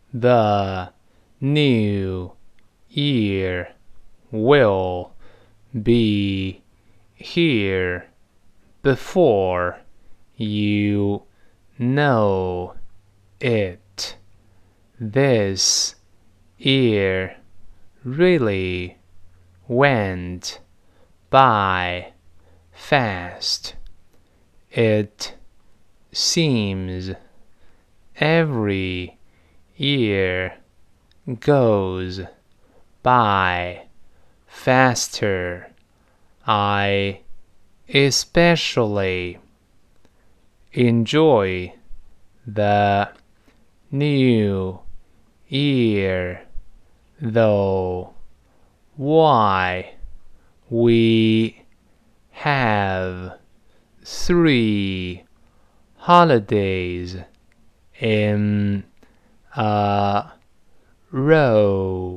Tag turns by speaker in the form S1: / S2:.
S1: The new year will be here before you know it. This year really went by fast. It seems every year goes by faster. I especially enjoy the new year, though. Why? We have 3 holidays in a row.